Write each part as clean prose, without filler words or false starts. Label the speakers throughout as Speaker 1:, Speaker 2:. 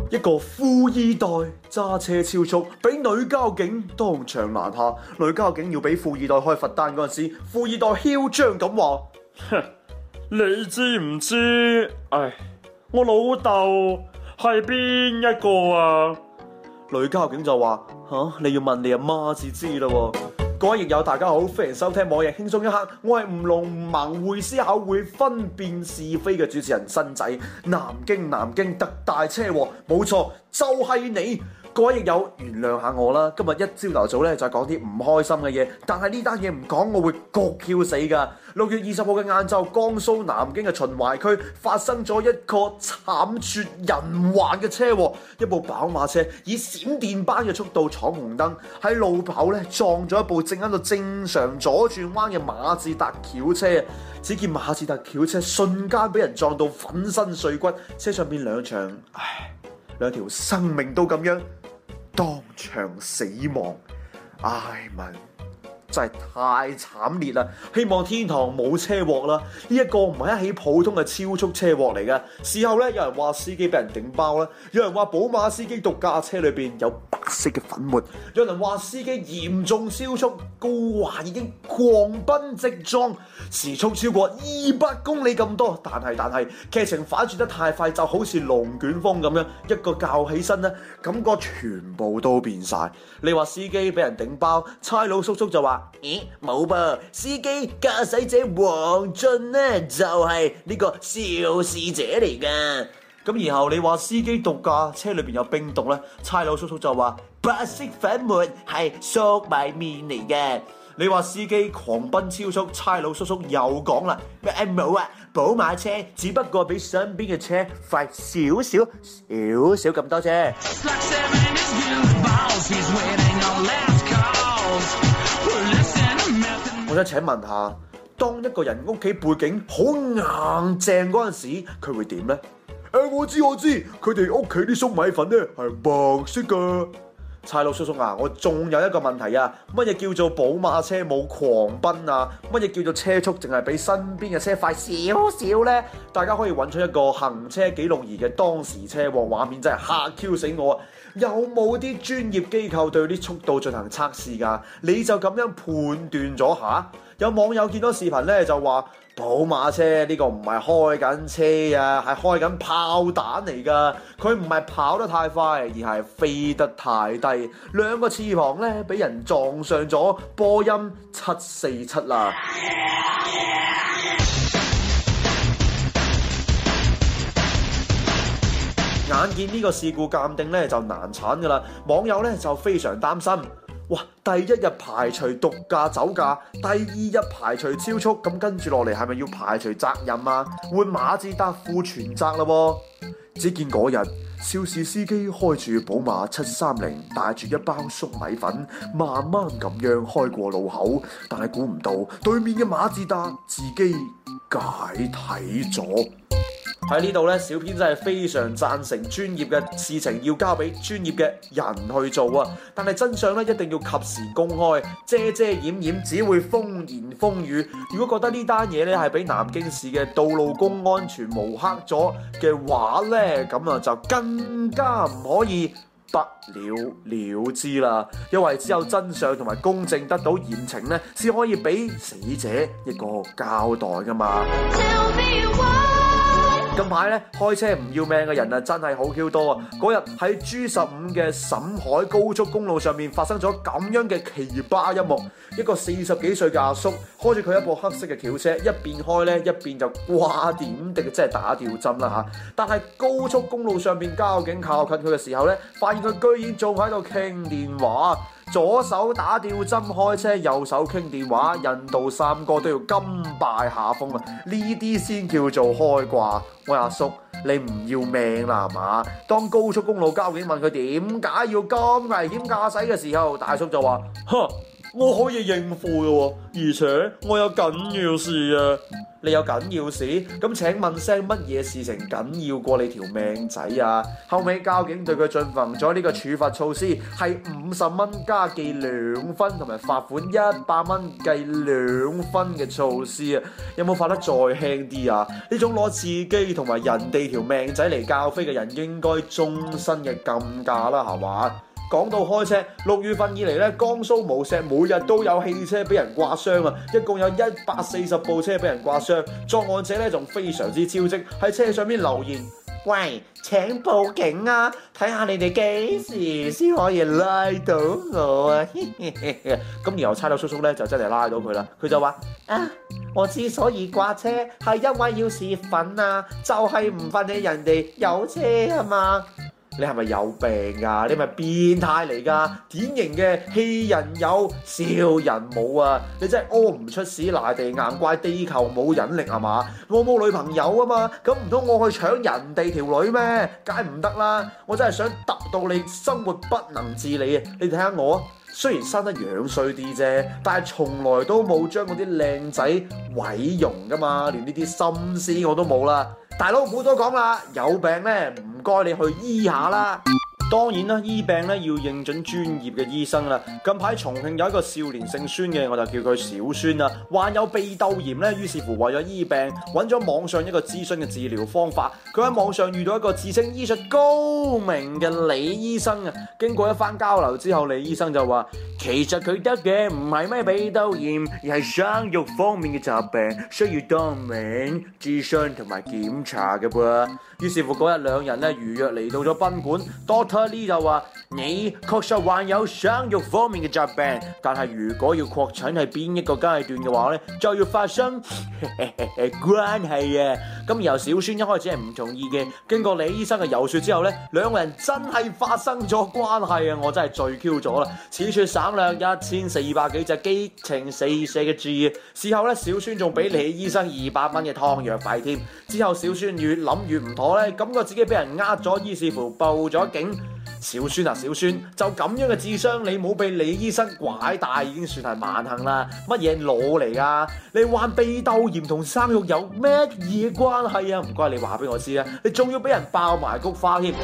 Speaker 1: 一個富二代揸車超速，俾女交警當場攔下。女交警要俾富二代開罰單嗰陣時，富二代囂張咁話：
Speaker 2: 哼，你知唔知？我老豆係邊一個啊？
Speaker 1: 女交警就話：你要問你阿媽至知啦喎。各位益友大家好，歡迎收聽網易輕鬆一刻，我係吳龍唔盲會思考會分辨是非嘅主持人新仔。南京特大車禍，冇錯就係你。各位益友原諒下我啦，今日一朝頭早咧就講啲唔開心嘅嘢，但係呢單嘢唔講我會焗 Q 死噶。6月20號嘅晏晝，江蘇南京嘅秦淮區發生咗一個慘絕人寰嘅車禍，一部寶馬車以閃電般嘅速度闖紅燈，喺路口咧撞咗一部正喺度正常左轉彎嘅馬自達轎車。只見馬自達轎車瞬間俾人撞到粉身碎骨，車上邊兩條生命都咁樣當場死亡，文真係太慘烈啦！希望天堂冇車禍啦。呢一個唔係一起普通嘅超速車禍嚟嘅。事後咧，有人話司機俾人頂包啦，有人話寶馬司機毒駕車裏邊有白色嘅粉末，有人話司機嚴重超速，高華已經狂奔直撞，時速超過200公里咁多。但係劇情反轉得太快，就好似龍捲風咁樣，一個較起身咧，感覺全部都變晒。你話司機俾人頂包，差佬叔叔就話：咦，冇噃，司機駕駛者黃俊呢就係呢個肇事者嚟噶。咁然後你話司機毒駕，車裏邊有冰毒呢，差佬叔叔就話白色粉末係粟米麵嚟嘅。你話司機狂奔超速，差佬叔叔又講啦，冇啊，寶馬車只不過比身邊嘅車快少少咁多啫。我想請問下，當一個人屋企背景好硬淨嗰陣時，佢會點呢？我知，佢哋屋企啲粟米粉咧係白色噶。差佬叔叔啊，我仲有一個問題啊，乜嘢叫做寶馬車冇狂奔啊？乜嘢叫做車速淨係比身邊嘅車快少少呢？大家可以揾出一個行車記錄儀嘅當時車禍畫面，真係嚇 Q 死我啊！有冇啲專業機構對啲速度進行測試㗎？你就咁樣判斷咗下？有網友見到視頻咧就話：寶馬車呢個唔係開緊車啊，係開緊炮彈嚟㗎。佢唔係跑得太快，而係飛得太低。兩個翅膀咧俾人撞上咗波音747啦。眼見呢個事故鑑定咧就難產㗎啦，網友咧就非常擔心。哇！第一日排除毒駕酒駕，第二日排除超速，咁跟住落嚟係咪要排除責任啊？換馬自達負全責啦喎！只見嗰日，肇事司機開住寶馬730，帶住一包粟米粉，慢慢咁樣開過路口，但係估唔到對面嘅馬自達自己解體咗。喺呢度咧，小編真係非常贊成專業嘅事情要交俾專業嘅人去做啊！但係真相咧一定要及時公開，遮掩只會風言風語。如果覺得呢單嘢咧係俾南京市嘅道路公安全抹黑咗嘅話咧，咁啊就更加唔可以不了了之啦，因為只有真相同埋公正得到嚴懲咧，先可以俾死者一個交代噶嘛。近排咧開車唔要命嘅人啊，真係好 Q 多啊！嗰日喺 G15嘅沈海高速公路上面發生咗咁樣嘅奇葩一幕，一個40幾歲嘅阿叔開住佢一部黑色嘅轎車，一邊開咧一邊就掛點滴，即係打吊針啦嚇。但係高速公路上邊交警靠近佢嘅時候咧，發現佢居然仲喺度傾電話。左手打吊針開車，右手傾電話，印度三哥都要甘拜下風啊！呢啲先叫做開掛。喂，阿叔，你唔要命啦係嘛？當高速公路交警問佢點解要咁危險駕駛嘅時候，大叔就話： 我可以應付嘅喎，
Speaker 2: 而且我有緊要事啊！
Speaker 1: 你有緊要事？咁請問聲乜嘢事情緊要過你條命仔啊？後尾交警對佢進行咗呢個處罰措施，係50蚊加記2分，同埋罰款100蚊計2分嘅措施啊！有冇罰得再輕啲啊？呢種攞自己同埋人哋條命仔嚟教飛嘅人，應該終身嘅禁駕啦，係嘛？講到開車，6月份以嚟咧，江蘇無錫每日都有汽車俾人刮傷啊！一共有140部車俾人刮傷，作案者咧仲非常之招積，喺車上面留言：喂，請報警啊！睇下你哋幾時先可以拉到我啊！咁然後差佬叔叔咧就真係拉到佢啦，佢就話：啊，我之所以刮車係因為要泄憤啊，就係唔忿氣人哋有車啊嘛！你係咪有病啊？你係咪變態嚟㗎？典型嘅氣人有，笑人冇啊！你真係屙唔出屎賴地硬，怪地球冇引力係嘛？我冇女朋友啊嘛，咁唔通我去搶人哋條女咩？梗係唔得啦！我真係想揼到你生活不能自理啊！你睇下我，雖然生得樣衰啲啫，但係從來都冇將嗰啲靚仔毀容㗎嘛，連呢啲心思我都冇啦。大佬唔好多講啦，有病咧唔該你去醫下啦。當然啦，醫病咧要認準專業嘅醫生啦。近排重慶有一個少年姓孫嘅，我就叫佢小孫啦，患有鼻竇炎咧，於是乎為咗醫病，揾咗網上一個諮詢嘅治療方法。佢喺網上遇到一個自稱醫術高明嘅李醫生啊。經過一番交流之後，李醫生就話：其實佢得嘅唔係咩鼻竇炎，而係生育方面嘅疾病，需要當面諮詢同埋檢查嘅噃。於是乎嗰日兩人咧如約嚟到咗賓館 ，Doctor Lee 就話：你確實患有生育方面嘅疾病，但係如果要確診係邊一個階段嘅話咧，就要發生關係啊！咁然後小孫一開始係唔同意嘅，經過李醫生嘅遊說之後咧，兩個人真係發生咗關係啊！我真係醉 Q 咗啦，此處省略1400幾隻激情四射嘅字。事後咧，小孫仲俾李醫生200蚊嘅湯藥費添。之後小孫越諗越唔妥咧，感覺自己俾人呃咗，於是乎報咗警。小孫啊，小孫，就咁樣嘅智商，你冇被李醫生拐帶已經算係萬幸啦。乜嘢腦嚟㗎？你患鼻竇炎同生育有咩嘢關係啊？唔該，你話俾我知啊！你仲要俾人爆埋菊花添。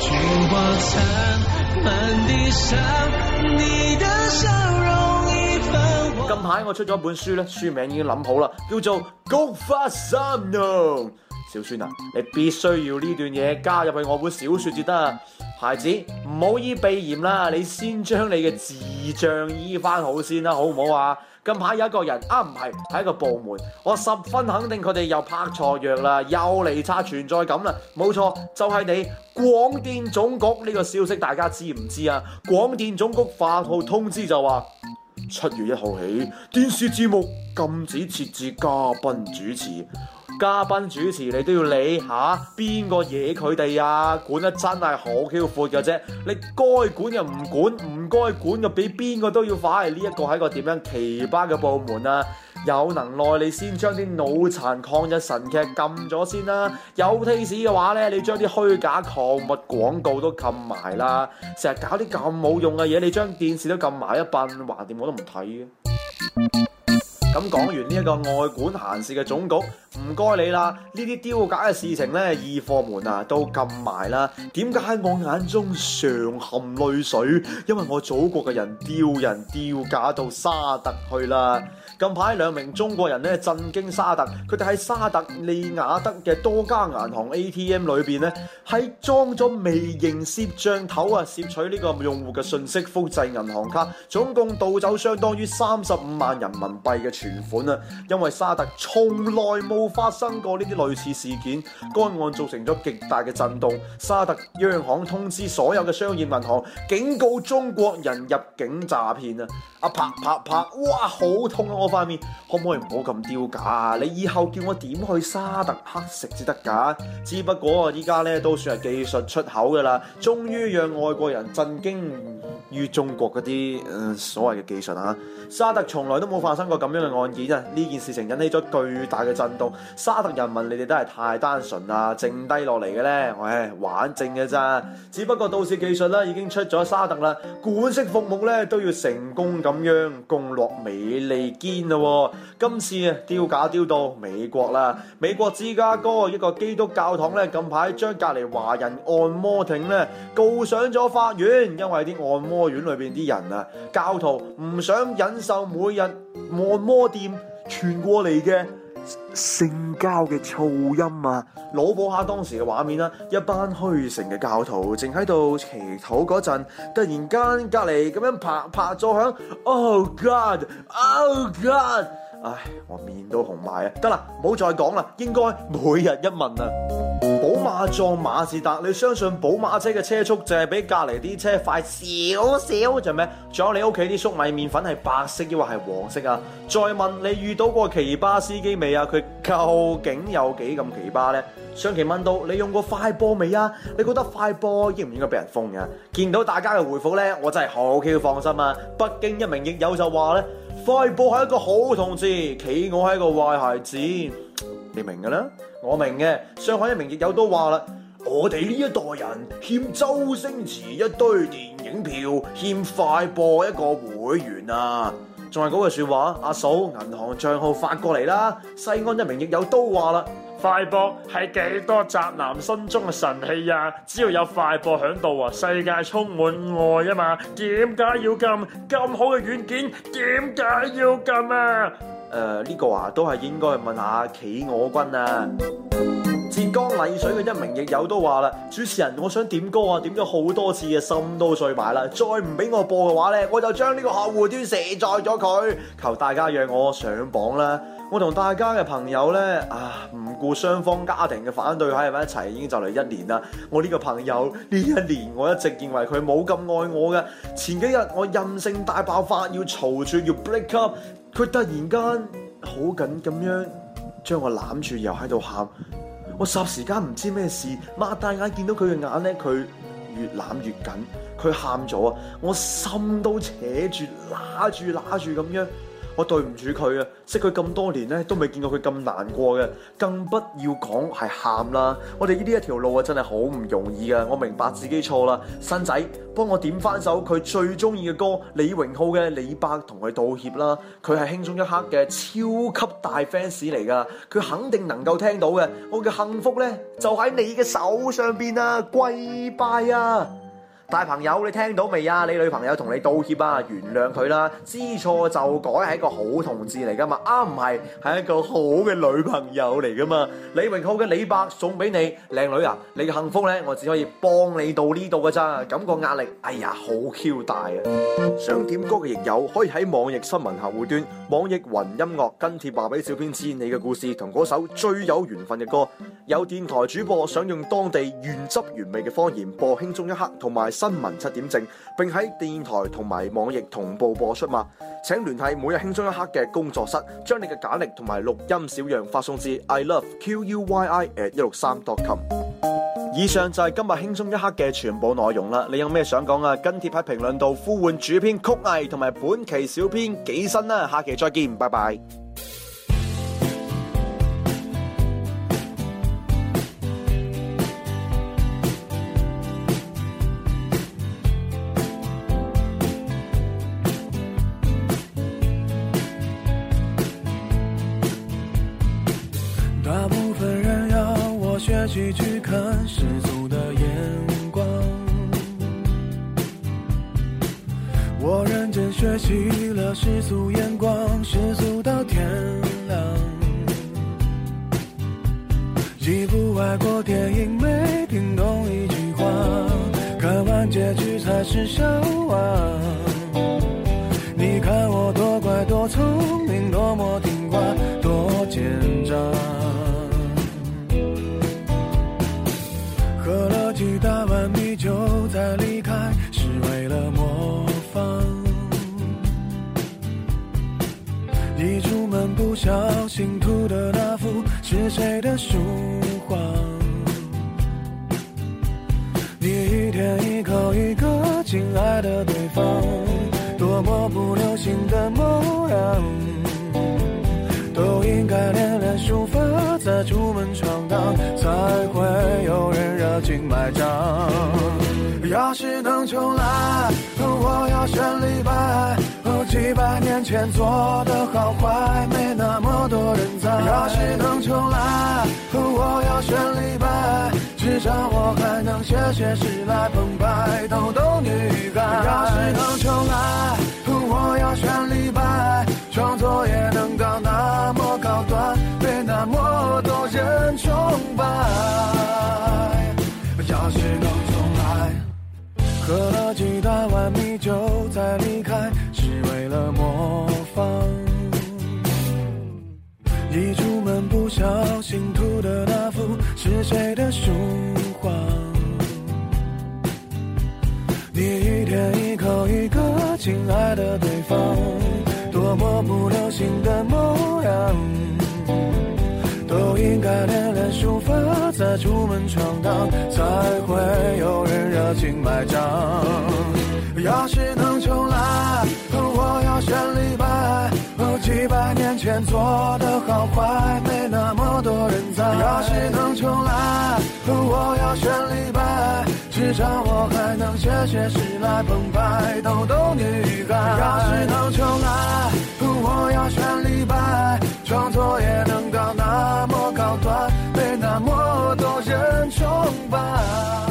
Speaker 1: 近排我出咗本書咧，書名已經諗好啦，叫做《菊花三弄》。小孫啊，你必須要呢段嘢加入去我本小說至得啊！孩子，唔好醫鼻炎啦，你先將你嘅智障醫翻好先啦，好唔好啊？近排有一個人唔係一個部門，我十分肯定佢哋又拍錯藥啦，又嚟刷存在感啦，冇錯，就係你廣電總局。呢個消息大家知唔知啊？廣電總局發號通知就話，7月1號起，電視節目禁止設置嘉賓主持。嘉賓主持你都要理下邊個惹佢哋啊？管得真係好 Q 闊嘅啫，你該管又唔管，唔該管又俾邊個都要快。呢一個係一個點樣奇葩嘅部門啊？有能耐你先將啲腦殘抗日神劇禁咗先啦，有 taste 嘅話咧，你將啲虛假礦物廣告都禁埋啦。成日搞啲咁冇用嘅嘢，你將電視都禁埋一笨，橫掂我都唔睇嘅。咁講完呢一個愛管閒事嘅總局，唔該你啦，呢啲丟架嘅事情呢，二貨門啊都禁埋啦。點解喺我眼中常含淚水？因為我祖國嘅人丟架到沙特去啦。近排2名中國人咧震驚沙特，佢哋喺沙特利雅得嘅多家銀行 ATM 裏邊咧，係裝咗微型攝像頭啊，攝取呢個用戶嘅信息，複製銀行卡，總共盜走相當於35萬人民幣嘅存款啊！因為沙特從來冇發生過呢啲類似事件，該案造成咗極大嘅震動。沙特央行通知所有嘅商業銀行，警告中國人入境詐騙啊！啪，哇，好痛啊！我塊面，可唔可以唔好咁丟架啊？你以後叫我點去沙特乞食至得㗎？只不過依家咧都算係技術出口㗎啦，終於讓外國人震驚於中國嗰啲所謂嘅技術啊。沙特從來都冇發生過咁樣嘅案件啊！呢件事情引起咗巨大嘅震動。沙特人民，你哋都係太單純啦，剩低落嚟嘅呢，玩剩嘅咋？只不過到時技術咧已經出咗沙特啦，管式服務咧都要成功咁樣攻落美利堅咯。今次啊，丟架丟到美國啦！美國芝加哥一個基督教堂咧，近排將隔離華人按摩亭咧告上咗法院，因為啲按摩院裏邊啲人啊，教徒唔想忍受每日按摩店傳過嚟嘅性交嘅噪音啊！腦補下當時嘅畫面啦，一班虛誠嘅教徒正喺度祈禱嗰陣，突然間隔離咁樣拍咗響 ，Oh God，Oh God！ 唉，我面都紅埋啊！得啦，唔好再講啦，應該每日一問啊！寶馬撞馬自達，你相信寶馬車嘅車速就係比隔離啲車快少少就咩？仲有你屋企啲粟米麵粉係白色抑或係黃色啊？再問你遇到過奇葩司機未啊？佢究竟有幾咁奇葩呢？上期問到你用過快播未啊？你覺得快播應唔應該俾人封啊？見到大家嘅回覆呢，我真係好 Q 放心啊！北京一名亦友就話呢，快播係一個好同志，企鵝係一個壞孩子。你明嘅啦，我明嘅。上海一名亦友都話啦，我哋呢一代人欠周星馳一堆電影票，欠快播一個會員啊！仲係嗰句說話，阿嫂銀行賬號發過嚟啦。西安一名亦友都話啦，
Speaker 2: 快播係幾多宅男心中嘅神器啊！只要有快播響度啊，世界充滿愛啊嘛！點解要禁咁好嘅軟件？點解要禁啊？
Speaker 1: 呢個啊都係應該去問下企鵝君啊。浙江麗水嘅一名亦友都話啦，主持人，我想點歌啊，點咗好多次嘅心都碎埋啦，再唔俾我播嘅話呢，我就將呢個客戶端卸載咗佢，求大家讓我上榜啦！我同大家嘅朋友呢，唔顧雙方家庭嘅反對喺埋一齊，已經就嚟1年啦。我呢個朋友呢1年，我一直認為佢冇咁愛我嘅。前幾日我任性大爆發，要嘈住要 break up，佢突然間好緊咁樣將我攬住，又喺度喊。我霎時間唔知咩事，擘大眼見到佢嘅眼呢，佢越攬越緊，佢喊咗啊！我心都扯住，揦住咁樣。我對唔住佢啊！識佢咁多年咧，都未見過佢咁難過嘅，更不要講係喊啦。我哋呢一條路啊，真係好唔容易噶。我明白自己錯啦，新仔幫我點翻首佢最中意嘅歌，李榮浩嘅《李白》，同佢道歉啦。佢係輕鬆一刻嘅超級大 fans 嚟噶，佢肯定能夠聽到嘅。我嘅幸福咧就喺你嘅手上邊啊！跪拜啊！大朋友，你聽到未啊？你女朋友同你道歉啊，原諒佢啦，知錯就改係一個好同志嚟噶嘛，唔係係一個好嘅女朋友嚟噶嘛。李榮浩嘅李白送俾你，靚女啊，你嘅幸福呢，我只可以幫你到呢度噶咋，感覺壓力，好 Q 大啊！想點歌嘅亦友可以喺網易新聞客戶端、網易雲音樂跟帖話俾小編知你嘅故事同嗰首最有緣分嘅歌。有電台主播想用當地原汁原味嘅方言播輕鬆一刻同埋新聞7點正，並喺電台同埋網易同步播出嘛？請聯繫每日輕鬆一刻嘅工作室，將你嘅簡歷同埋錄音小樣發送至 ilovequi@163.com。以上就係今日輕鬆一刻嘅全部內容啦。你有咩想講啊？跟帖喺評論度呼喚主編曲藝同埋本期小編幾新啦。下期再見，拜拜。
Speaker 3: 大部分人要我学习去看世俗的眼光，我认真学习了世俗眼光，世俗到天亮。一部外国电影没听懂一句话，看完结局才是笑话。你看我多乖多聪明，多么听话，多奸诈。喝了几大碗米酒再离开，是为了模仿。一出门不小心涂的那幅是谁的书画？你一天一口一个亲爱的对方，多么不流行的模样，都应该练练书法，再出门闯荡，才会有人热情买账。要是能重来，我要选李白。几百年前做的好坏，没那么多人在。要是能重来，我要选李白，至少我还能写诗来澎湃逗逗女孩。要是能重来，我要选李白，创作也能到那么高端，被那么多人崇拜。要是能重来，喝了几大碗米酒再离开，是为了模仿。一出门不小心涂的那幅是谁的书画？你一天一口一个亲爱的对方，多么不流行的模样，都应该练练书法，再出门闯荡，才会有人热情买账。要是能重来，我要选李白。几百年前做的好坏，没那么多人在。要是能重来，我要选李白，至少我还能写诗来澎湃逗逗女孩。要是能重来，我要选李白，创作也能到那么高端，被那么多人崇拜。